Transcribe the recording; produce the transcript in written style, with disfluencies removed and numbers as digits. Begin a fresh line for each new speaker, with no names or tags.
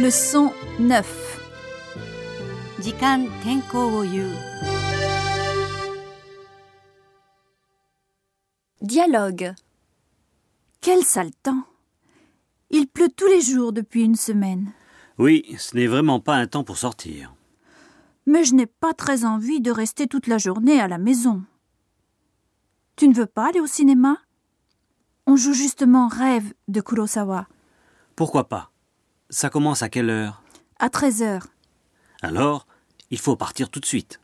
Leçon 9.
時間天候を言う。
Dialogue. Quel sale temps! Il pleut tous les jours depuis une semaine.
Oui, ce n'est vraiment pas un temps pour sortir.
Mais je n'ai pas très envie de rester toute la journée à la maison. Tu ne veux pas aller au cinéma? On joue justement Rêve de Kurosawa.
Pourquoi pas? Ça commence à quelle heure?
À 13h.
Alors, il faut partir tout de suite.